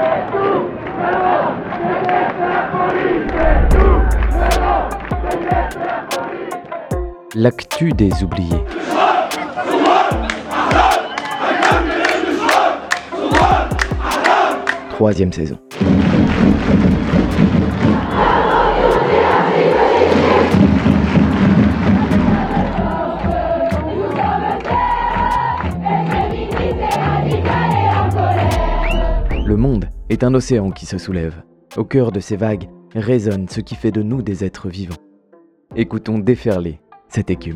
L'actu des oubliés. Troisième saison. Le monde est un océan qui se soulève. Au cœur de ces vagues résonne ce qui fait de nous des êtres vivants. Écoutons déferler cette écume.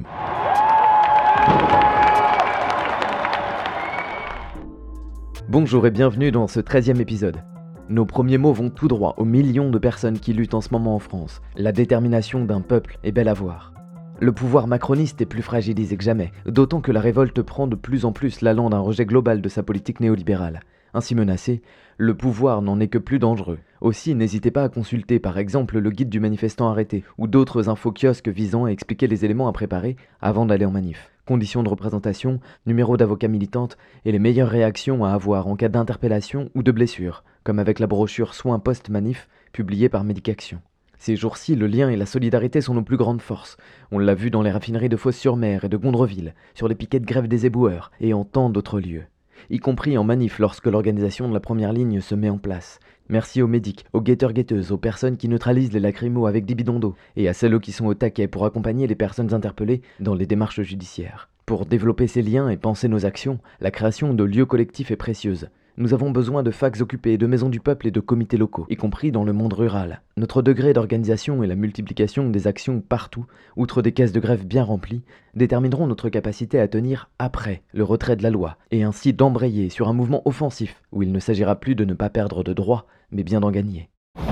Bonjour et bienvenue dans ce 13e épisode. Nos premiers mots vont tout droit aux millions de personnes qui luttent en ce moment en France. La détermination d'un peuple est belle à voir. Le pouvoir macroniste est plus fragilisé que jamais, d'autant que la révolte prend de plus en plus l'allant d'un rejet global de sa politique néolibérale. Ainsi menacé, le pouvoir n'en est que plus dangereux. Aussi, n'hésitez pas à consulter par exemple le guide du manifestant arrêté ou d'autres info-kiosques visant à expliquer les éléments à préparer avant d'aller en manif. Conditions de représentation, numéro d'avocat militante et les meilleures réactions à avoir en cas d'interpellation ou de blessure, comme avec la brochure Soins post-manif publiée par Medicaction. Ces jours-ci, le lien et la solidarité sont nos plus grandes forces. On l'a vu dans les raffineries de Fos-sur-Mer et de Gondreville, sur les piquets de grève des éboueurs et en tant d'autres lieux. Y compris en manif lorsque l'organisation de la première ligne se met en place. Merci aux médics, aux guetteurs-guetteuses, aux personnes qui neutralisent les lacrymos avec des bidons d'eau, et à celles qui sont au taquet pour accompagner les personnes interpellées dans les démarches judiciaires. Pour développer ces liens et penser nos actions, la création de lieux collectifs est précieuse. Nous avons besoin de facs occupés, de maisons du peuple et de comités locaux, y compris dans le monde rural. Notre degré d'organisation et la multiplication des actions partout, outre des caisses de grève bien remplies, détermineront notre capacité à tenir après le retrait de la loi, et ainsi d'embrayer sur un mouvement offensif, où il ne s'agira plus de ne pas perdre de droits, mais bien d'en gagner.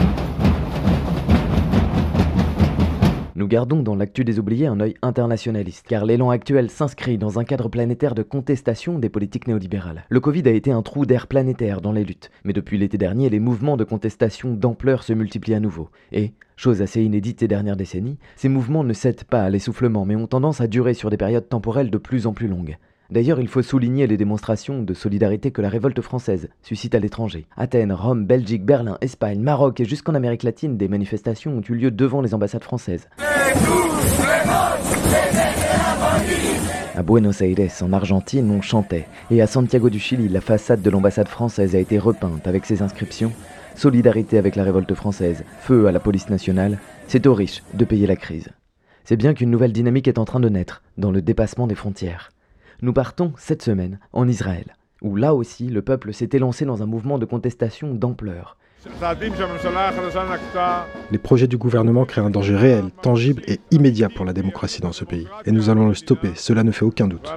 Nous gardons dans l'actu des oubliés un œil internationaliste, car l'élan actuel s'inscrit dans un cadre planétaire de contestation des politiques néolibérales. Le Covid a été un trou d'air planétaire dans les luttes, mais depuis l'été dernier, les mouvements de contestation d'ampleur se multiplient à nouveau. Et, chose assez inédite ces dernières décennies, ces mouvements ne cèdent pas à l'essoufflement, mais ont tendance à durer sur des périodes temporelles de plus en plus longues. D'ailleurs, il faut souligner les démonstrations de solidarité que la révolte française suscite à l'étranger. Athènes, Rome, Belgique, Berlin, Espagne, Maroc et jusqu'en Amérique latine, des manifestations ont eu lieu devant les ambassades françaises. À Buenos Aires, en Argentine, on chantait. Et à Santiago du Chili, la façade de l'ambassade française a été repeinte avec ses inscriptions « Solidarité avec la révolte française, feu à la police nationale, c'est aux riches de payer la crise ». C'est bien qu'une nouvelle dynamique est en train de naître dans le dépassement des frontières. Nous partons cette semaine en Israël, où là aussi le peuple s'est élancé dans un mouvement de contestation d'ampleur. Les projets du gouvernement créent un danger réel, tangible et immédiat pour la démocratie dans ce pays. Et nous allons le stopper, cela ne fait aucun doute.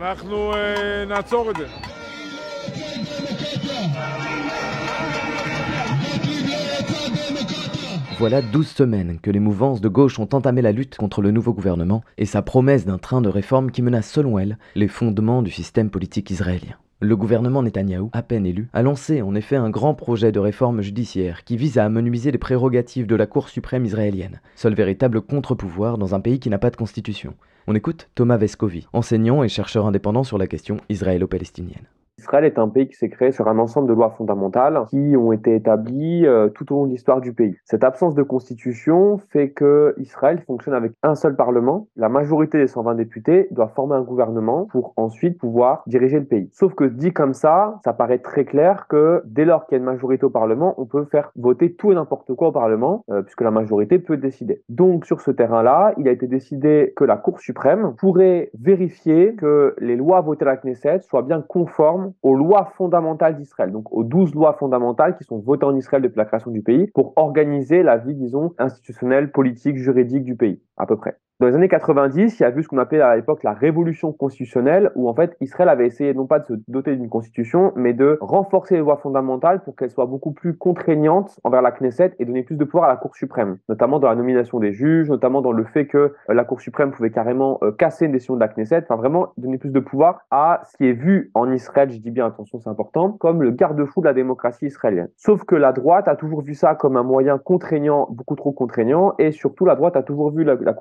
Voilà 12 semaines que les mouvances de gauche ont entamé la lutte contre le nouveau gouvernement et sa promesse d'un train de réforme qui menace selon elle les fondements du système politique israélien. Le gouvernement Netanyahou, à peine élu, a lancé en effet un grand projet de réforme judiciaire qui vise à amenuiser les prérogatives de la Cour suprême israélienne, seul véritable contre-pouvoir dans un pays qui n'a pas de constitution. On écoute Thomas Vescovi, enseignant et chercheur indépendant sur la question israélo-palestinienne. Israël est un pays qui s'est créé sur un ensemble de lois fondamentales qui ont été établies tout au long de l'histoire du pays. Cette absence de constitution fait que Israël fonctionne avec un seul parlement. La majorité des 120 députés doit former un gouvernement pour ensuite pouvoir diriger le pays. Sauf que dit comme ça paraît très clair que dès lors qu'il y a une majorité au parlement, on peut faire voter tout et n'importe quoi au parlement puisque la majorité peut décider. Donc sur ce terrain-là, il a été décidé que la Cour suprême pourrait vérifier que les lois votées à la Knesset soient bien conformes aux lois fondamentales d'Israël, donc aux 12 lois fondamentales qui sont votées en Israël depuis la création du pays pour organiser la vie, disons, institutionnelle, politique, juridique du pays, à peu près. Dans les années 90, il y a eu ce qu'on appelait à l'époque la révolution constitutionnelle, où en fait Israël avait essayé non pas de se doter d'une constitution, mais de renforcer les lois fondamentales pour qu'elles soient beaucoup plus contraignantes envers la Knesset et donner plus de pouvoir à la Cour suprême, notamment dans la nomination des juges, notamment dans le fait que la Cour suprême pouvait carrément casser une décision de la Knesset, enfin vraiment donner plus de pouvoir à ce qui est vu en Israël, je dis bien attention c'est important, comme le garde-fou de la démocratie israélienne. Sauf que la droite a toujours vu ça comme un moyen contraignant, beaucoup trop contraignant, et surtout la droite a toujours vu la Cour suprême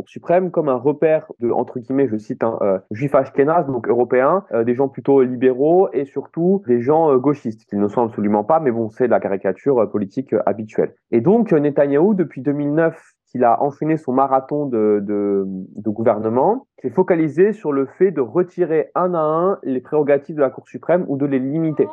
même comme un repère de, entre guillemets, je cite, juifs ashkénazes, donc européens, des gens plutôt libéraux et surtout des gens gauchistes, qu'ils ne sont absolument pas, mais bon, c'est la caricature politique habituelle. Et donc, Netanyahou, depuis 2009, qu'il a enchaîné son marathon de gouvernement, s'est focalisé sur le fait de retirer un à un les prérogatives de la Cour suprême ou de les limiter.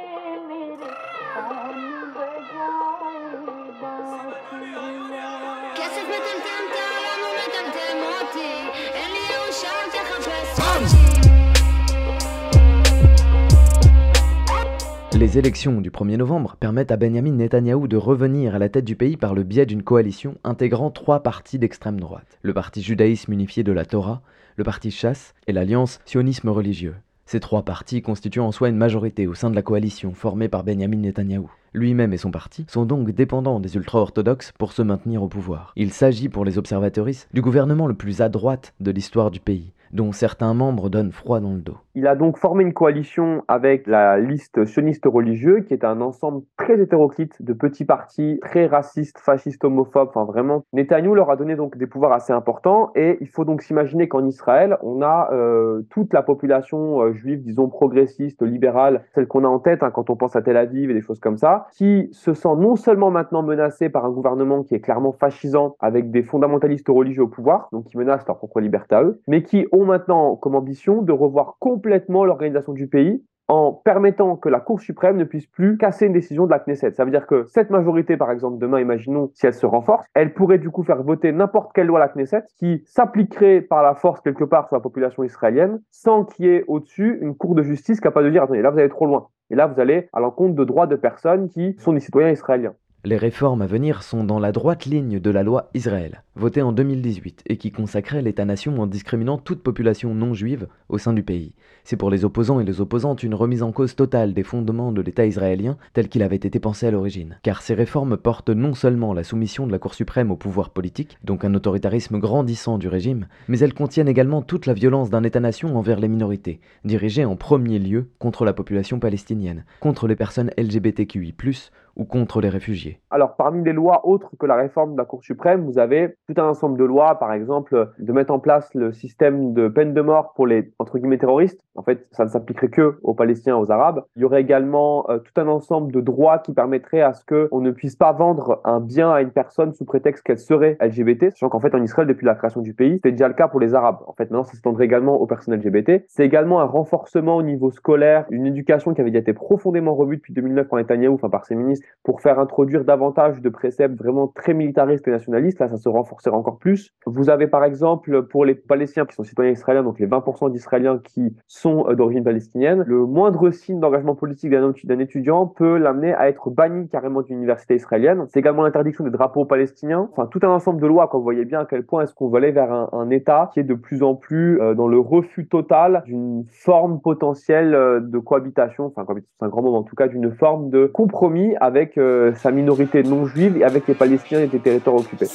Les élections du 1er novembre permettent à Benyamin Netanyahou de revenir à la tête du pays par le biais d'une coalition intégrant 3 partis d'extrême droite. Le parti judaïsme unifié de la Torah, le parti Chasse et l'alliance sionisme religieux. Ces 3 partis constituent en soi une majorité au sein de la coalition formée par Benyamin Netanyahou. Lui-même et son parti sont donc dépendants des ultra-orthodoxes pour se maintenir au pouvoir. Il s'agit pour les observateuristes du gouvernement le plus à droite de l'histoire du pays, dont certains membres donnent froid dans le dos. Il a donc formé une coalition avec la liste sioniste religieux, qui est un ensemble très hétéroclite de petits partis, très racistes, fascistes, homophobes, enfin vraiment. Netanyahou leur a donné donc des pouvoirs assez importants et il faut donc s'imaginer qu'en Israël, on a toute la population juive, disons progressiste, libérale, celle qu'on a en tête quand on pense à Tel Aviv et des choses comme ça, qui se sent non seulement maintenant menacée par un gouvernement qui est clairement fascisant avec des fondamentalistes religieux au pouvoir, donc qui menacent leur propre liberté à eux, mais qui ont maintenant comme ambition de revoir complètement l'organisation du pays en permettant que la Cour suprême ne puisse plus casser une décision de la Knesset. Ça veut dire que cette majorité, par exemple, demain, imaginons, si elle se renforce, elle pourrait du coup faire voter n'importe quelle loi à la Knesset qui s'appliquerait par la force quelque part sur la population israélienne sans qu'il y ait au-dessus une cour de justice capable de dire « Attendez, là vous allez trop loin ». Et là, vous allez à l'encontre de droits de personnes qui sont des citoyens israéliens. Les réformes à venir sont dans la droite ligne de la loi Israël, votée en 2018 et qui consacrait l'État-nation en discriminant toute population non juive au sein du pays. C'est pour les opposants et les opposantes une remise en cause totale des fondements de l'État israélien tel qu'il avait été pensé à l'origine. Car ces réformes portent non seulement la soumission de la Cour suprême au pouvoir politique, donc un autoritarisme grandissant du régime, mais elles contiennent également toute la violence d'un État-nation envers les minorités, dirigée en premier lieu contre la population palestinienne, contre les personnes LGBTQI+, ou contre les réfugiés. Alors, parmi les lois autres que la réforme de la Cour suprême, vous avez tout un ensemble de lois, par exemple, de mettre en place le système de peine de mort pour les, entre guillemets, terroristes. En fait, ça ne s'appliquerait que aux Palestiniens, aux Arabes. Il y aurait également tout un ensemble de droits qui permettraient à ce qu'on ne puisse pas vendre un bien à une personne sous prétexte qu'elle serait LGBT, sachant qu'en fait, en Israël, depuis la création du pays, c'était déjà le cas pour les Arabes. En fait, maintenant, ça s'étendrait également aux personnes LGBT. C'est également un renforcement au niveau scolaire, une éducation qui avait déjà été profondément revue depuis 2009 par Netanyahou, enfin par ses ministres, pour faire introduire davantage de préceptes vraiment très militaristes et nationalistes. Là, ça se renforcerait encore plus. Vous avez par exemple, pour les Palestiniens qui sont citoyens israéliens, donc les 20% d'Israéliens qui sont d'origine palestinienne, le moindre signe d'engagement politique d'un étudiant peut l'amener à être banni carrément d'une université israélienne. C'est également l'interdiction des drapeaux palestiniens. Enfin, tout un ensemble de lois, quand vous voyez bien à quel point est-ce qu'on va aller vers un État qui est de plus en plus dans le refus total d'une forme potentielle de cohabitation, enfin, c'est un grand mot, en tout cas, d'une forme de compromis avec sa minorité non juive et avec les Palestiniens et des territoires occupés.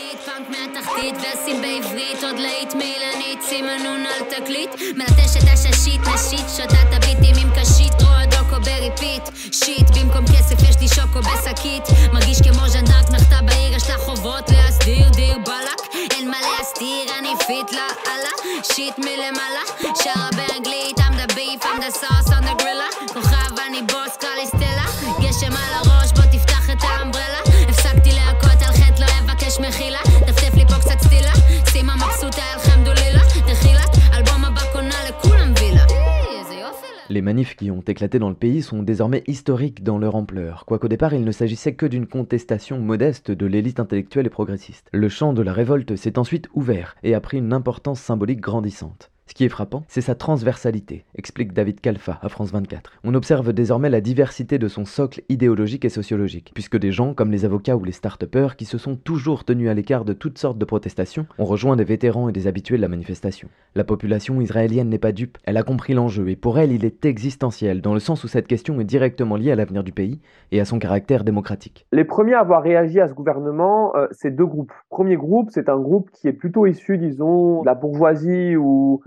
Les manifs qui ont éclaté dans le pays sont désormais historiques dans leur ampleur, quoiqu'au départ il ne s'agissait que d'une contestation modeste de l'élite intellectuelle et progressiste. Le champ de la révolte s'est ensuite ouvert et a pris une importance symbolique grandissante. Ce qui est frappant, c'est sa transversalité, explique David Kalfa à France 24. On observe désormais la diversité de son socle idéologique et sociologique, puisque des gens comme les avocats ou les start-upers qui se sont toujours tenus à l'écart de toutes sortes de protestations ont rejoint des vétérans et des habitués de la manifestation. La population israélienne n'est pas dupe, elle a compris l'enjeu et pour elle il est existentiel, dans le sens où cette question est directement liée à l'avenir du pays et à son caractère démocratique. Les premiers à avoir réagi à ce gouvernement, c'est 2 groupes. Premier groupe, c'est un groupe qui est plutôt issu, disons, de la bourgeoisie ou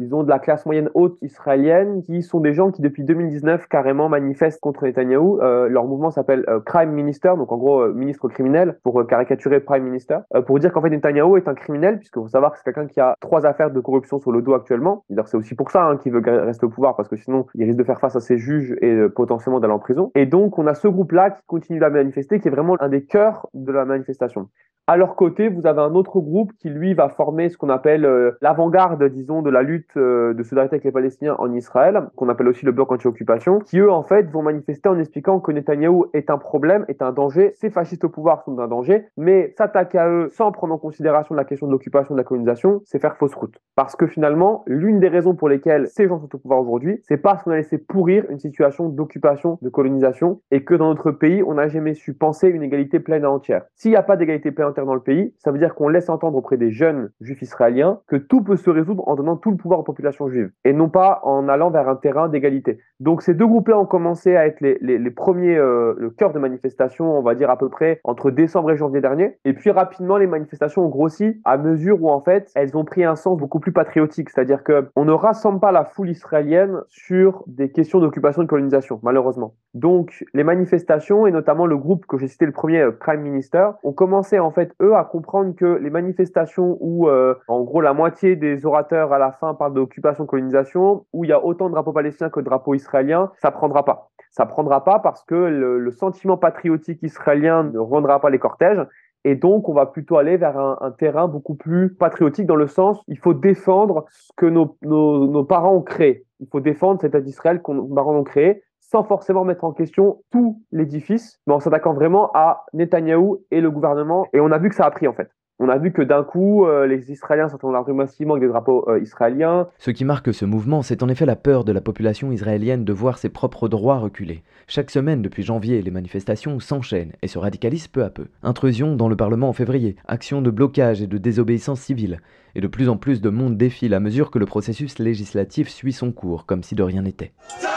disons, de la classe moyenne haute israélienne, qui sont des gens qui, depuis 2019, carrément manifestent contre Netanyahou. Leur mouvement s'appelle Crime Minister, donc en gros, ministre criminel, pour caricaturer Prime Minister, pour dire qu'en fait, Netanyahou est un criminel, puisque faut savoir que c'est quelqu'un qui a 3 affaires de corruption sur le dos actuellement. D'ailleurs, c'est aussi pour ça qu'il veut rester au pouvoir, parce que sinon, il risque de faire face à ses juges et potentiellement d'aller en prison. Et donc, on a ce groupe-là qui continue à manifester, qui est vraiment un des cœurs de la manifestation. À leur côté, vous avez un autre groupe qui, lui, va former ce qu'on appelle l'avant-garde, disons, de la lutte de solidarité avec les Palestiniens en Israël, qu'on appelle aussi le bloc anti-occupation, qui, eux, en fait, vont manifester en expliquant que Netanyahou est un problème, est un danger, ces fascistes au pouvoir sont un danger, mais s'attaquer à eux sans prendre en considération la question de l'occupation, de la colonisation, c'est faire fausse route. Parce que finalement, l'une des raisons pour lesquelles ces gens sont au pouvoir aujourd'hui, c'est parce qu'on a laissé pourrir une situation d'occupation, de colonisation, et que dans notre pays, on n'a jamais su penser une égalité pleine et entière. S'il n'y a pas d'égalité pleine et entière dans le pays, ça veut dire qu'on laisse entendre auprès des jeunes juifs israéliens que tout peut se résoudre en donnant tout le pouvoir aux populations juives, et non pas en allant vers un terrain d'égalité. Donc ces deux groupes-là ont commencé à être les premiers, le cœur de manifestation, on va dire à peu près entre décembre et janvier dernier, et puis rapidement les manifestations ont grossi à mesure où en fait elles ont pris un sens beaucoup plus patriotique, c'est-à-dire qu'on ne rassemble pas la foule israélienne sur des questions d'occupation et de colonisation, malheureusement. Donc les manifestations, et notamment le groupe que j'ai cité le premier, Prime Minister, ont commencé en fait eux à comprendre que les manifestations où en gros la moitié des orateurs à la fin parlent d'occupation, colonisation, où il y a autant de drapeaux palestiniens que de drapeaux israéliens, ça prendra pas. Ça prendra pas parce que le sentiment patriotique israélien ne rendra pas les cortèges. Et donc, on va plutôt aller vers un terrain beaucoup plus patriotique dans le sens, il faut défendre ce que nos parents ont créé. Il faut défendre cet État d'Israël que nos parents ont créé sans forcément mettre en question tout l'édifice, mais en s'attaquant vraiment à Netanyahou et le gouvernement. Et on a vu que ça a pris en fait. On a vu que d'un coup, les Israéliens s'entendent la rue massivement avec des drapeaux israéliens. Ce qui marque ce mouvement, c'est en effet la peur de la population israélienne de voir ses propres droits reculer. Chaque semaine depuis janvier, les manifestations s'enchaînent et se radicalisent peu à peu. Intrusion dans le Parlement en février, actions de blocage et de désobéissance civile. Et de plus en plus de monde défile à mesure que le processus législatif suit son cours, comme si de rien n'était.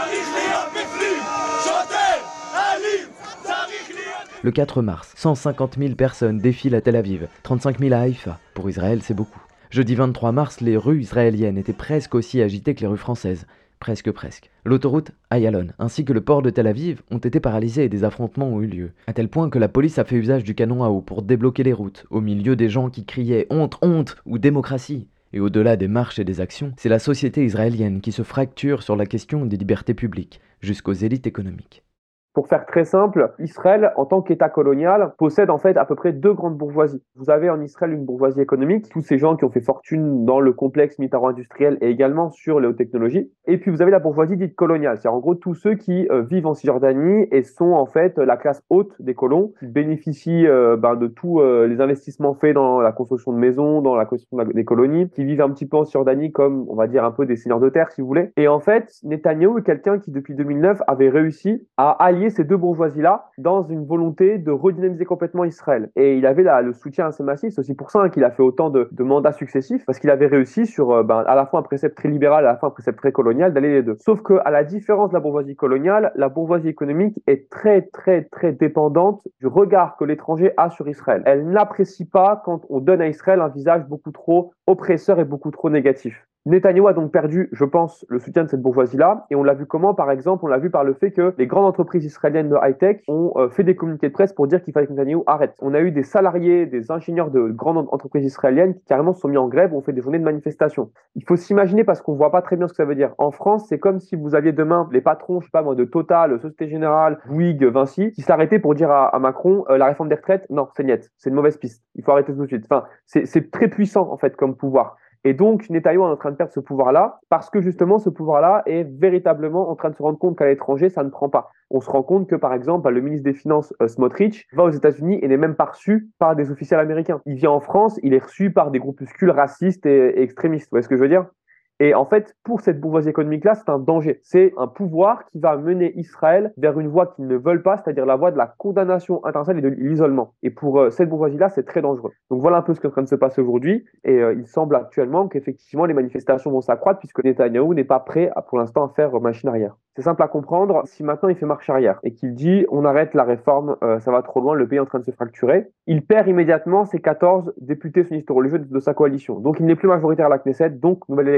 Le 4 mars, 150 000 personnes défilent à Tel Aviv, 35 000 à Haïfa. Pour Israël, c'est beaucoup. Jeudi 23 mars, les rues israéliennes étaient presque aussi agitées que les rues françaises. Presque. L'autoroute Ayalon, ainsi que le port de Tel Aviv, ont été paralysés et des affrontements ont eu lieu. À tel point que la police a fait usage du canon à eau pour débloquer les routes, au milieu des gens qui criaient « honte, honte » ou « démocratie ». Et au-delà des marches et des actions, c'est la société israélienne qui se fracture sur la question des libertés publiques, jusqu'aux élites économiques. Pour faire très simple, Israël, en tant qu'État colonial, possède en fait à peu près 2 grandes bourgeoisies. Vous avez en Israël une bourgeoisie économique, tous ces gens qui ont fait fortune dans le complexe militaro-industriel et également sur les hautes technologies. Et puis vous avez la bourgeoisie dite coloniale, c'est en gros tous ceux qui vivent en Cisjordanie et sont en fait la classe haute des colons, qui bénéficient de tous les investissements faits dans la construction de maisons, dans la construction des colonies, qui vivent un petit peu en Cisjordanie comme, on va dire, un peu des seigneurs de terre si vous voulez. Et en fait, Netanyahou est quelqu'un qui depuis 2009 avait réussi à allier ces deux bourgeoisies-là dans une volonté de redynamiser complètement Israël. Et il avait le soutien assez massif, c'est aussi pour ça qu'il a fait autant de mandats successifs, parce qu'il avait réussi sur à la fois un précepte très libéral, à la fois un précepte très colonial, d'aller les deux. Sauf qu'à la différence de la bourgeoisie coloniale, la bourgeoisie économique est très dépendante du regard que l'étranger a sur Israël. Elle n'apprécie pas quand on donne à Israël un visage beaucoup trop oppresseur et beaucoup trop négatif. Netanyahou a donc perdu, je pense, le soutien de cette bourgeoisie-là. Et on l'a vu comment, par exemple, on l'a vu par le fait que les grandes entreprises israéliennes de high-tech ont fait des communiqués de presse pour dire qu'il fallait que Netanyahou arrête. On a eu des salariés, des ingénieurs de grandes entreprises israéliennes qui carrément se sont mis en grève ou ont fait des journées de manifestation. Il faut s'imaginer, parce qu'on ne voit pas très bien ce que ça veut dire. En France, c'est comme si vous aviez demain les patrons, je sais pas moi, de Total, Société Générale, Bouygues, Vinci, qui s'arrêtaient pour dire à Macron, la réforme des retraites, non, c'est niette, c'est une mauvaise piste. Il faut arrêter tout de suite. Enfin, c'est très puissant, en fait, comme pouvoir. Et donc, Netanyahou est en train de perdre ce pouvoir-là parce que justement, ce pouvoir-là est véritablement en train de se rendre compte qu'à l'étranger, ça ne prend pas. On se rend compte que, par exemple, le ministre des Finances, Smotrich, va aux États-Unis et n'est même pas reçu par des officiels américains. Il vient en France, il est reçu par des groupuscules racistes et extrémistes. Vous voyez ce que je veux dire ? Et en fait, pour cette bourgeoisie économique-là, c'est un danger. C'est un pouvoir qui va mener Israël vers une voie qu'ils ne veulent pas, c'est-à-dire la voie de la condamnation internationale et de l'isolement. Et pour cette bourgeoisie-là, c'est très dangereux. Donc voilà un peu ce qui est en train de se passer aujourd'hui. Et il semble actuellement qu'effectivement, les manifestations vont s'accroître puisque Netanyahou n'est pas prêt, pour l'instant, à faire machine arrière. C'est simple à comprendre. Si maintenant il fait marche arrière et qu'il dit on arrête la réforme, ça va trop loin, le pays est en train de se fracturer, il perd immédiatement ses 14 députés sionistes religieux de sa coalition. Donc il n'est plus majoritaire à la Knesset, donc nouvelle élection.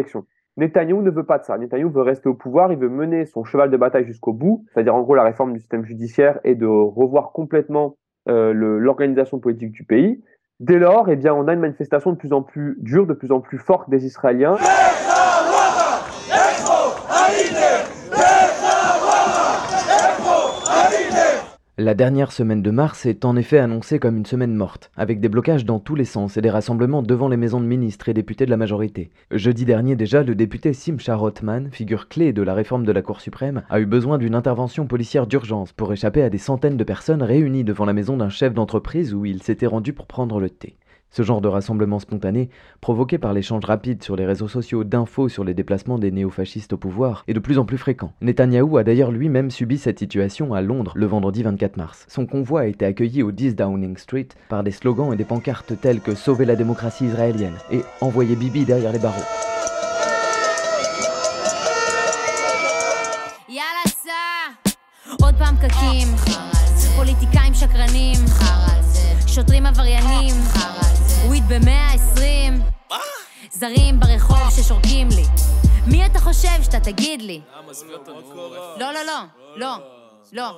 Netanyahou ne veut pas de ça. Netanyahou veut rester au pouvoir, il veut mener son cheval de bataille jusqu'au bout, c'est-à-dire en gros la réforme du système judiciaire et de revoir complètement l'organisation politique du pays. Dès lors, eh bien, on a une manifestation de plus en plus dure, de plus en plus forte des Israéliens. La dernière semaine de mars est en effet annoncée comme une semaine morte, avec des blocages dans tous les sens et des rassemblements devant les maisons de ministres et députés de la majorité. Jeudi dernier déjà, le député Simcha Rothman, figure clé de la réforme de la Cour suprême, a eu besoin d'une intervention policière d'urgence pour échapper à des centaines de personnes réunies devant la maison d'un chef d'entreprise où il s'était rendu pour prendre le thé. Ce genre de rassemblement spontané, provoqué par l'échange rapide sur les réseaux sociaux d'infos sur les déplacements des néofascistes au pouvoir, est de plus en plus fréquent. Netanyahou a d'ailleurs lui-même subi cette situation à Londres le vendredi 24 mars. Son convoi a été accueilli au 10 Downing Street par des slogans et des pancartes tels que « Sauver la démocratie israélienne » et « Envoyer Bibi derrière les barreaux ». שוטרים עבריינים, וויד ב-120 זרים ברחוב ששורקים לי מי אתה חושב שאתה תגיד לי? לא, לא, לא, לא, לא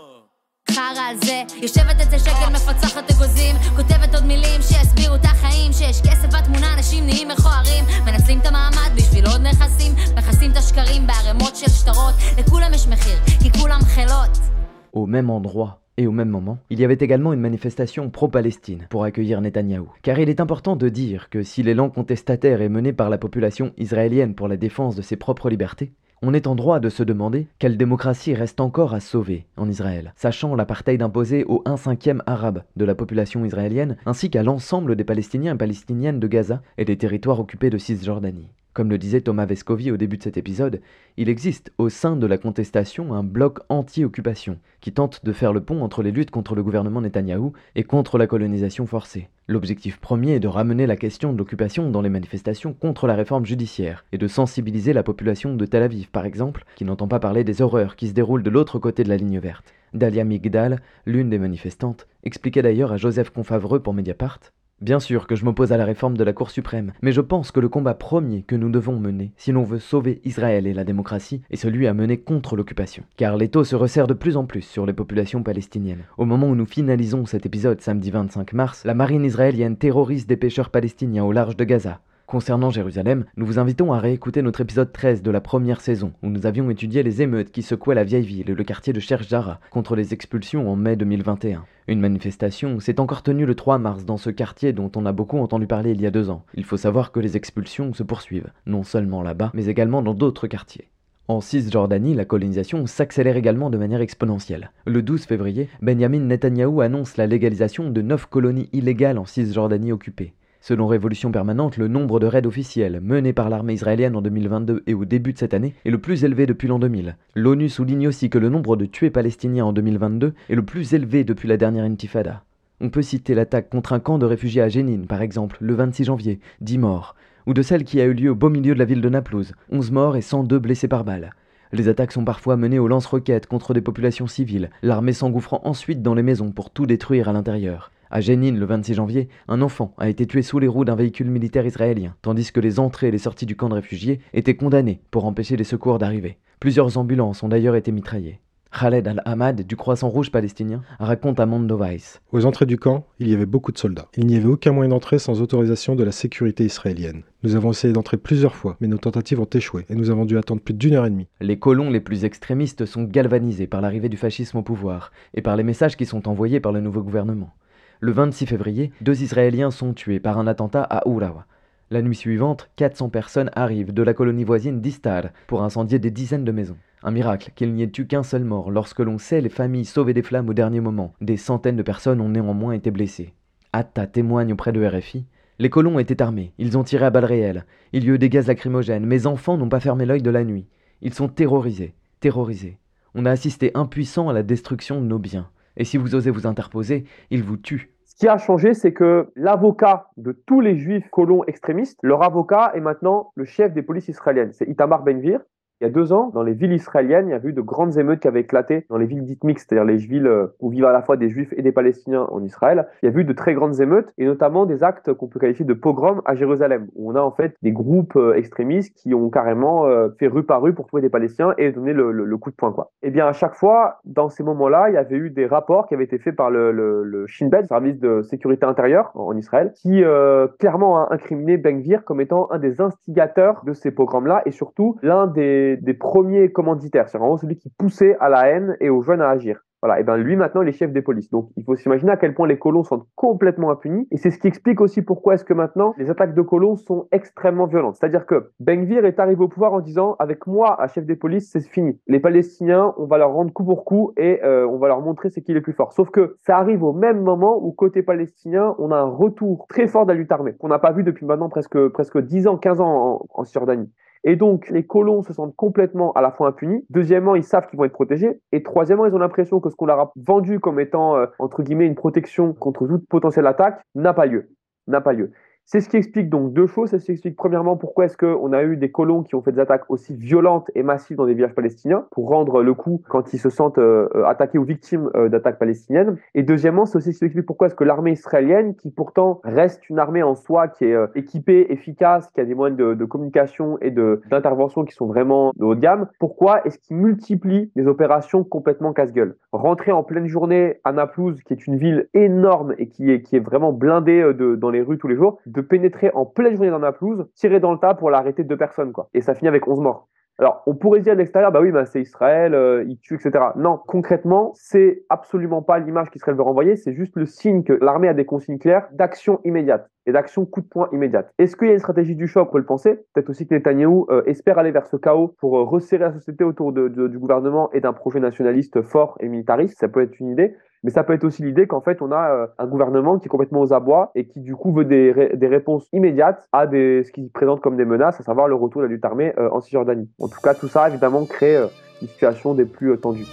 חרה על זה יושבת אצל שקל מפצחת אגוזים כותבת עוד מילים שיסבירו את החיים שיש כסף בתמונה אנשים נהיים מכוערים מנצלים את המעמד בשביל עוד נכסים מכסים את השקרים בערימות של שטרות לכולם יש מחיר כי כולם חילות. Au même endroit et au même moment, il y avait également une manifestation pro-Palestine pour accueillir Netanyahou. Car il est important de dire que si l'élan contestataire est mené par la population israélienne pour la défense de ses propres libertés, on est en droit de se demander quelle démocratie reste encore à sauver en Israël, sachant l'apartheid imposé aux 1/5 arabe de la population israélienne, ainsi qu'à l'ensemble des Palestiniens et Palestiniennes de Gaza et des territoires occupés de Cisjordanie. Comme le disait Thomas Vescovi au début de cet épisode, il existe au sein de la contestation un bloc anti-occupation qui tente de faire le pont entre les luttes contre le gouvernement Netanyahou et contre la colonisation forcée. L'objectif premier est de ramener la question de l'occupation dans les manifestations contre la réforme judiciaire et de sensibiliser la population de Tel Aviv, par exemple, qui n'entend pas parler des horreurs qui se déroulent de l'autre côté de la ligne verte. Dalia Migdal, l'une des manifestantes, expliquait d'ailleurs à Joseph Confavreux pour Mediapart: Bien sûr que je m'oppose à la réforme de la Cour suprême, mais je pense que le combat premier que nous devons mener, si l'on veut sauver Israël et la démocratie, est celui à mener contre l'occupation. Car l'étau se resserre de plus en plus sur les populations palestiniennes. Au moment où nous finalisons cet épisode samedi 25 mars, la marine israélienne terrorise des pêcheurs palestiniens au large de Gaza. Concernant Jérusalem, nous vous invitons à réécouter notre épisode 13 de la première saison, où nous avions étudié les émeutes qui secouaient la vieille ville et le quartier de Sheikh Jarrah contre les expulsions en mai 2021. Une manifestation s'est encore tenue le 3 mars dans ce quartier dont on a beaucoup entendu parler il y a 2 ans. Il faut savoir que les expulsions se poursuivent, non seulement là-bas, mais également dans d'autres quartiers. En Cisjordanie, la colonisation s'accélère également de manière exponentielle. Le 12 février, Benjamin Netanyahou annonce la légalisation de 9 colonies illégales en Cisjordanie occupée. Selon Révolution Permanente, le nombre de raids officiels menés par l'armée israélienne en 2022 et au début de cette année est le plus élevé depuis l'an 2000. L'ONU souligne aussi que le nombre de tués palestiniens en 2022 est le plus élevé depuis la dernière intifada. On peut citer l'attaque contre un camp de réfugiés à Jénine, par exemple, le 26 janvier, 10 morts, ou de celle qui a eu lieu au beau milieu de la ville de Naplouse, 11 morts et 102 blessés par balle. Les attaques sont parfois menées au lance-roquettes contre des populations civiles, l'armée s'engouffrant ensuite dans les maisons pour tout détruire à l'intérieur. À Jénine, le 26 janvier, un enfant a été tué sous les roues d'un véhicule militaire israélien, tandis que les entrées et les sorties du camp de réfugiés étaient condamnées pour empêcher les secours d'arriver. Plusieurs ambulances ont d'ailleurs été mitraillées. Khaled Al-Ahmad, du Croissant Rouge palestinien, raconte à Mondo Vice. Aux entrées du camp, il y avait beaucoup de soldats. Il n'y avait aucun moyen d'entrer sans autorisation de la sécurité israélienne. Nous avons essayé d'entrer plusieurs fois, mais nos tentatives ont échoué et nous avons dû attendre plus d'1 heure et demie. Les colons les plus extrémistes sont galvanisés par l'arrivée du fascisme au pouvoir et par les messages qui sont envoyés par le nouveau gouvernement. Le 26 février, 2 Israéliens sont tués par un attentat à Urawa. La nuit suivante, 400 personnes arrivent de la colonie voisine d'Istar pour incendier des dizaines de maisons. Un miracle qu'il n'y ait eu qu'un seul mort lorsque l'on sait les familles sauvées des flammes au dernier moment. Des centaines de personnes ont néanmoins été blessées. Atta témoigne auprès de RFI. Les colons étaient armés, ils ont tiré à balles réelles. Il y a eu des gaz lacrymogènes, mes enfants n'ont pas fermé l'œil de la nuit. Ils sont terrorisés. On a assisté impuissants à la destruction de nos biens. Et si vous osez vous interposer, ils vous tuent. Ce qui a changé, c'est que l'avocat de tous les juifs colons extrémistes, leur avocat est maintenant le chef des polices israéliennes. C'est Itamar Ben-Gvir. Il y a 2 ans, dans les villes israéliennes, il y a eu de grandes émeutes qui avaient éclaté dans les villes dites mixtes, c'est-à-dire les villes où vivent à la fois des Juifs et des Palestiniens en Israël. Il y a eu de très grandes émeutes, et notamment des actes qu'on peut qualifier de pogroms à Jérusalem, où on a en fait des groupes extrémistes qui ont carrément fait rue par rue pour trouver des Palestiniens et donner le coup de poing, quoi. Et bien à chaque fois, dans ces moments-là, il y avait eu des rapports qui avaient été faits par le Shin Bet, service de sécurité intérieure en Israël, qui clairement a incriminé Ben Gvir comme étant un des instigateurs de ces pogroms-là, et surtout l'un des premiers commanditaires, c'est vraiment celui qui poussait à la haine et aux jeunes à agir. Voilà, et bien lui maintenant il est chef des polices. Donc il faut s'imaginer à quel point les colons sont complètement impunis, et c'est ce qui explique aussi pourquoi est-ce que maintenant les attaques de colons sont extrêmement violentes. C'est-à-dire que Ben Gvir est arrivé au pouvoir en disant avec moi à chef des polices c'est fini. Les Palestiniens on va leur rendre coup pour coup et on va leur montrer c'est qui est le plus fort. Sauf que ça arrive au même moment où côté palestinien on a un retour très fort de la lutte armée qu'on n'a pas vu depuis maintenant presque 10 ans, 15 ans en Cisjordanie. Et donc, les colons se sentent complètement à la fois impunis. Deuxièmement, ils savent qu'ils vont être protégés. Et troisièmement, ils ont l'impression que ce qu'on leur a vendu comme étant, entre guillemets, une protection contre toute potentielle attaque n'a pas lieu. N'a pas lieu. C'est ce qui explique donc deux choses. C'est ce qui explique premièrement pourquoi est-ce qu'on a eu des colons qui ont fait des attaques aussi violentes et massives dans des villages palestiniens pour rendre le coup quand ils se sentent attaqués ou victimes d'attaques palestiniennes. Et deuxièmement, c'est aussi ce qui explique pourquoi est-ce que l'armée israélienne, qui pourtant reste une armée en soi qui est équipée, efficace, qui a des moyens de communication et d'intervention qui sont vraiment de haut de gamme, pourquoi est-ce qu'ils multiplient des opérations complètement casse-gueule? Rentrer en pleine journée à Naplouse, qui est une ville énorme et qui est vraiment blindée dans les rues tous les jours, de pénétrer en pleine journée dans Naplouse, tirer dans le tas pour l'arrêter 2 personnes, quoi. Et ça finit avec 11 morts. Alors, on pourrait dire de l'extérieur, bah oui, bah c'est Israël, ils tuent, etc. Non, concrètement, c'est absolument pas l'image qu'Israël veut renvoyer, c'est juste le signe que l'armée a des consignes claires d'action immédiate et d'action coup de poing immédiate. Est-ce qu'il y a une stratégie du choc? On peut le penser. Peut-être aussi que Netanyahou espère aller vers ce chaos pour resserrer la société autour du gouvernement et d'un projet nationaliste fort et militariste. Ça peut être une idée. Mais ça peut être aussi l'idée qu'en fait, on a un gouvernement qui est complètement aux abois et qui, du coup, veut des réponses immédiates à ce qu'il présente comme des menaces, à savoir le retour de la lutte armée en Cisjordanie. En tout cas, tout ça, évidemment, crée une situation des plus tendues.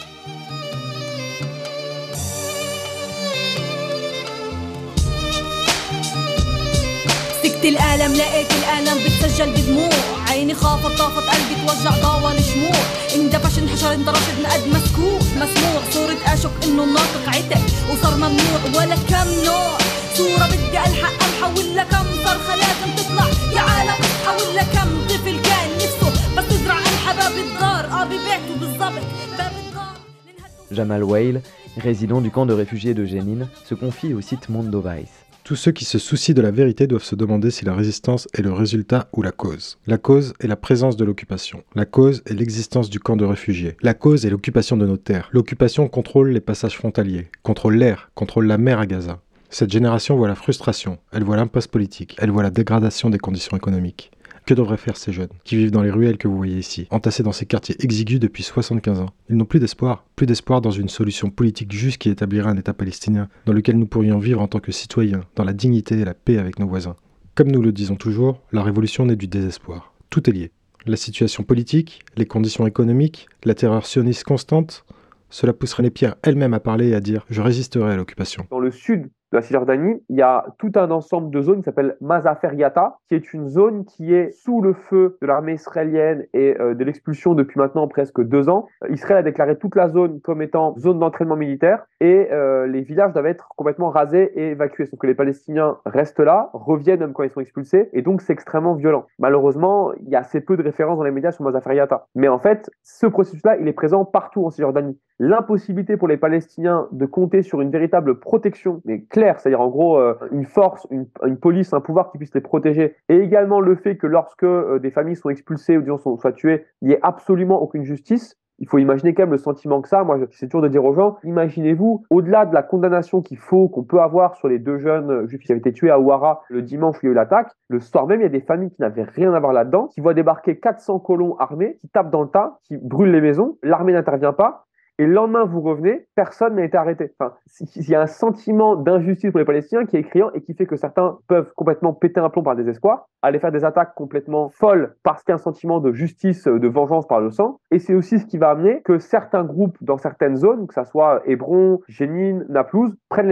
مسكت القلم لقيت القلم بتسجل بدموع عيني خافت طافت قلبي توجع ضاوى الشموع اندفش انحشر اندرشت نقد مسكوت مسموع صورة اشك انه الناطق عتق وصار ممنوع ولا كم نوع صورة بدي الحق امحى ولا كم صرخة لازم تطلع يا عالم اصحى ولا كم طفل كان نفسه بس تزرع الحباب باب الدار ببيته بالضبط باب الدار. Jamal Weil, résident du camp de réfugiés de Jenin, se confie au site Mondoweiss. Tous ceux qui se soucient de la vérité doivent se demander si la résistance est le résultat ou la cause. La cause est la présence de l'occupation. La cause est l'existence du camp de réfugiés. La cause est l'occupation de nos terres. L'occupation contrôle les passages frontaliers, contrôle l'air, contrôle la mer à Gaza. Cette génération voit la frustration, elle voit l'impasse politique, elle voit la dégradation des conditions économiques. Que devraient faire ces jeunes, qui vivent dans les ruelles que vous voyez ici, entassés dans ces quartiers exigus depuis 75 ans? Ils n'ont plus d'espoir dans une solution politique juste qui établirait un État palestinien, dans lequel nous pourrions vivre en tant que citoyens, dans la dignité et la paix avec nos voisins. Comme nous le disons toujours, la révolution naît du désespoir. Tout est lié. La situation politique, les conditions économiques, la terreur sioniste constante, cela pousserait les pierres elles-mêmes à parler et à dire « je résisterai à l'occupation ». Dans le sud de la Cisjordanie, il y a tout un ensemble de zones qui s'appelle Mazafer Yatta, qui est une zone qui est sous le feu de l'armée israélienne et de l'expulsion depuis maintenant presque 2 ans. Israël a déclaré toute la zone comme étant zone d'entraînement militaire et les villages doivent être complètement rasés et évacués. Sauf que les Palestiniens restent là, reviennent même quand ils sont expulsés, et donc c'est extrêmement violent. Malheureusement, il y a assez peu de références dans les médias sur Mazafer Yatta. Mais en fait, ce processus-là, il est présent partout en Cisjordanie. L'impossibilité pour les Palestiniens de compter sur une véritable protection, mais claire, c'est-à-dire en gros une force, une police, un pouvoir qui puisse les protéger, et également le fait que lorsque des familles sont expulsées ou disons soient tuées, il n'y ait absolument aucune justice. Il faut imaginer quand même le sentiment que ça. Moi, j'essaie toujours de dire aux gens, imaginez-vous, au-delà de la condamnation qu'on peut avoir sur les 2 jeunes juifs qui avaient été tués à Ouara le dimanche où il y a eu l'attaque, le soir même, il y a des familles qui n'avaient rien à voir là-dedans, qui voient débarquer 400 colons armés, qui tapent dans le tas, qui brûlent les maisons, l'armée n'intervient pas. Et le lendemain, vous revenez, personne n'a été arrêté. Enfin, il y a un sentiment d'injustice pour les Palestiniens qui est criant et qui fait que certains peuvent complètement péter un plomb par désespoir, aller faire des attaques complètement folles parce qu'il y a un sentiment de justice, de vengeance par le sang. Et c'est aussi ce qui va amener que certains groupes dans certaines zones, que ce soit Hébron, Jenin, Naplouse, prennent les armes.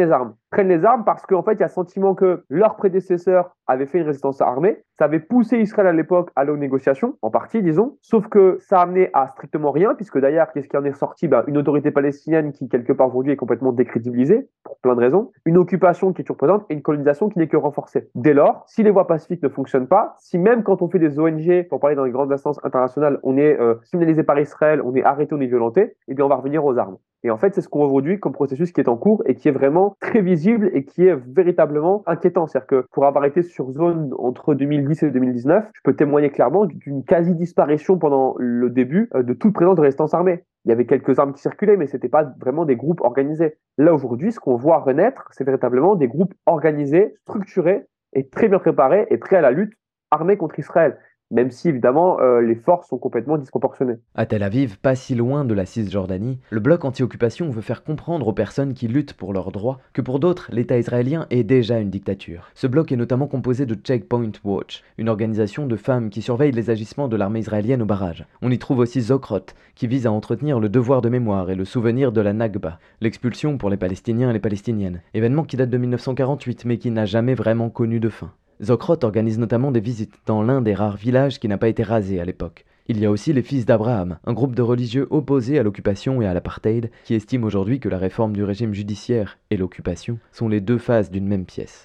prennent les armes parce qu'en fait, il y a le sentiment que leurs prédécesseurs avaient fait une résistance armée. Ça avait poussé Israël à l'époque à aller aux négociations, en partie, disons. Sauf que ça a amené à strictement rien, puisque d'ailleurs, qu'est-ce qui en est ressorti? Une autorité palestinienne qui, quelque part aujourd'hui, est complètement décrédibilisée, pour plein de raisons. Une occupation qui est toujours présente et une colonisation qui n'est que renforcée. Dès lors, si les voies pacifiques ne fonctionnent pas, si même quand on fait des ONG, pour parler dans les grandes instances internationales, on est criminalisé par Israël, on est arrêté, on est violenté, eh bien on va revenir aux armes. Et en fait, c'est ce qu'on voit aujourd'hui comme processus qui est en cours et qui est vraiment très visible et qui est véritablement inquiétant. C'est-à-dire que pour avoir été sur zone entre 2010 et 2019, je peux témoigner clairement d'une quasi-disparition pendant le début de toute présence de résistance armée. Il y avait quelques armes qui circulaient, mais ce n'était pas vraiment des groupes organisés. Là, aujourd'hui, ce qu'on voit renaître, c'est véritablement des groupes organisés, structurés et très bien préparés et prêts à la lutte armée contre Israël. Même si, évidemment, les forces sont complètement disproportionnées. À Tel Aviv, pas si loin de la Cisjordanie, le bloc anti-occupation veut faire comprendre aux personnes qui luttent pour leurs droits que pour d'autres, l'État israélien est déjà une dictature. Ce bloc est notamment composé de Checkpoint Watch, une organisation de femmes qui surveille les agissements de l'armée israélienne au barrage. On y trouve aussi Zokrot, qui vise à entretenir le devoir de mémoire et le souvenir de la Nakba, l'expulsion pour les Palestiniens et les Palestiniennes, événement qui date de 1948 mais qui n'a jamais vraiment connu de fin. Zokrot organise notamment des visites dans l'un des rares villages qui n'a pas été rasé à l'époque. Il y a aussi les Fils d'Abraham, un groupe de religieux opposés à l'occupation et à l'apartheid, qui estiment aujourd'hui que la réforme du régime judiciaire et l'occupation sont les deux faces d'une même pièce.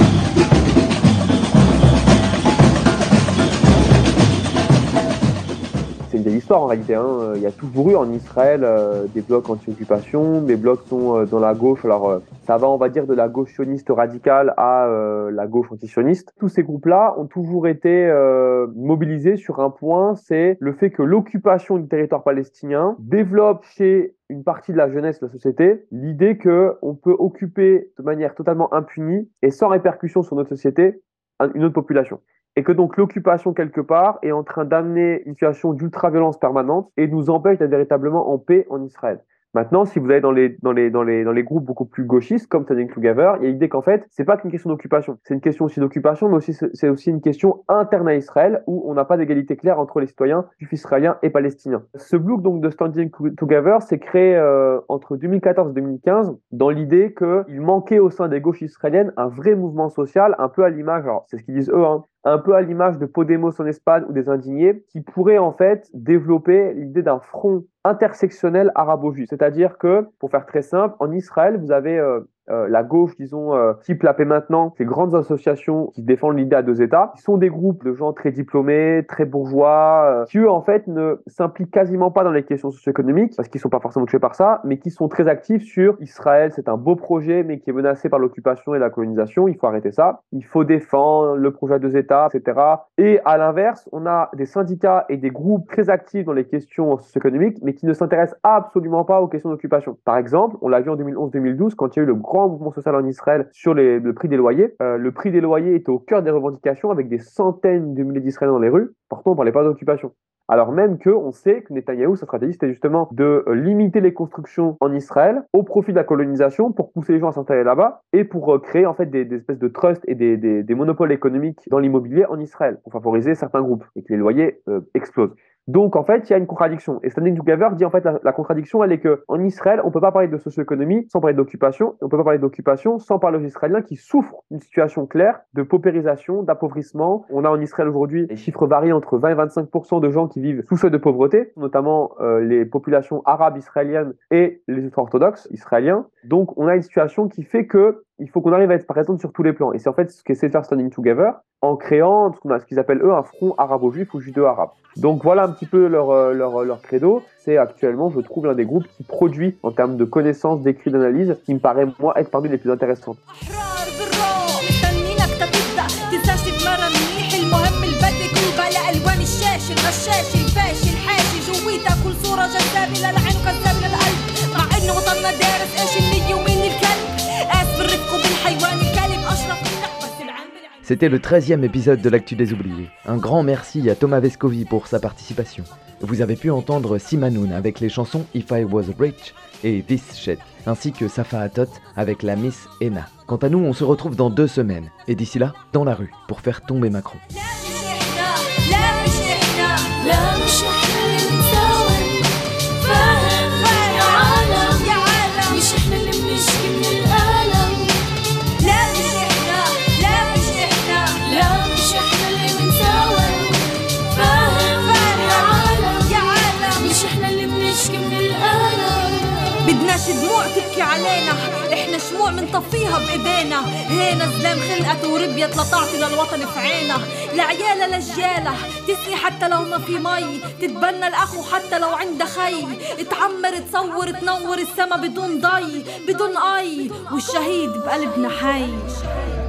C'est une vieille histoire en réalité. Il y a toujours eu en Israël des blocs anti-occupation, des blocs sont dans la gauche. Alors ça va, on va dire, de la gauche sioniste radicale à la gauche anti-sioniste. Tous ces groupes-là ont toujours été mobilisés sur un point, c'est le fait que l'occupation du territoire palestinien développe chez une partie de la jeunesse de la société l'idée qu'on peut occuper de manière totalement impunie et sans répercussion sur notre société une autre population. Et que donc l'occupation quelque part est en train d'amener une situation d'ultra-violence permanente et nous empêche d'être véritablement en paix en Israël. Maintenant, si vous allez dans les groupes beaucoup plus gauchistes, comme Standing Together, il y a l'idée qu'en fait, c'est pas qu'une question d'occupation. C'est une question aussi d'occupation, mais aussi, c'est aussi une question interne à Israël, où on n'a pas d'égalité claire entre les citoyens juifs israéliens et palestiniens. Ce bloc donc de Standing Together s'est créé entre 2014 et 2015 dans l'idée qu'il manquait au sein des gauches israéliennes un vrai mouvement social, un peu à l'image, alors c'est ce qu'ils disent eux, un peu à l'image de Podemos en Espagne ou des Indignés, qui pourrait en fait développer l'idée d'un front intersectionnel arabo-juif. C'est-à-dire que, pour faire très simple, en Israël, vous avez la gauche, disons, type La Paix Maintenant, ces grandes associations qui défendent l'idée à deux États, qui sont des groupes de gens très diplômés, très bourgeois, qui eux, en fait, ne s'impliquent quasiment pas dans les questions socio-économiques, parce qu'ils ne sont pas forcément touchés par ça, mais qui sont très actifs sur Israël, c'est un beau projet, mais qui est menacé par l'occupation et la colonisation, il faut arrêter ça, il faut défendre le projet à deux États, etc. Et à l'inverse, on a des syndicats et des groupes très actifs dans les questions socio-économiques, mais qui ne s'intéressent absolument pas aux questions d'occupation. Par exemple, on l'a vu en 2011-2012, quand il y a eu le grand mouvement social en Israël sur le prix des loyers. Le prix des loyers était au cœur des revendications avec des centaines de milliers d'Israéliens dans les rues. Pourtant, on ne parlait pas d'occupation. Alors même qu'on sait que Netanyahou, sa stratégie, c'était justement de limiter les constructions en Israël au profit de la colonisation pour pousser les gens à s'installer là-bas et pour créer en fait des espèces de trusts et des monopoles économiques dans l'immobilier en Israël pour favoriser certains groupes et que les loyers explosent. Donc, en fait, il y a une contradiction. Et Standing Together dit, en fait, la contradiction, elle est qu'en Israël, on ne peut pas parler de socio-économie sans parler d'occupation. Et on ne peut pas parler d'occupation sans parler aux Israéliens qui souffrent d'une situation claire de paupérisation, d'appauvrissement. On a en Israël aujourd'hui, les chiffres varient entre 20 et 25% de gens qui vivent sous seuil de pauvreté, notamment les populations arabes israéliennes et les ultra-orthodoxes israéliens. Donc, on a une situation qui fait qu'il faut qu'on arrive à être présent sur tous les plans. Et c'est en fait ce qu'essaie de faire Standing Together en créant ce qu'ils appellent eux un front arabo-juif ou judéo-arabe. Donc voilà un petit peu leur credo. C'est actuellement, je trouve, l'un des groupes qui produit en termes de connaissances, d'écrits, d'analyse, qui me paraît, moi, être parmi les plus intéressantes. C'était le 13e épisode de l'Actu des Oubliés. Un grand merci à Thomas Vescovi pour sa participation. Vous avez pu entendre Simanoun avec les chansons If I Was Rich et This Shit, ainsi que Safa Hatot avec la Miss Ena. Quant à nous, on se retrouve dans 2 semaines, et d'ici là, dans la rue, pour faire tomber Macron. بدهاش دموع تبكي علينا، احنا شموع منطفيها بايدينا. هينا زلام خلقت وربيت لتعطي للوطن في عينا، لعيالة لجيالة تسقي حتى لو ما في مي، تتبنى الاخو حتى لو عنده خي، تعمر تصور تنور السما بدون ضي بدون اي، والشهيد بقلبنا حي.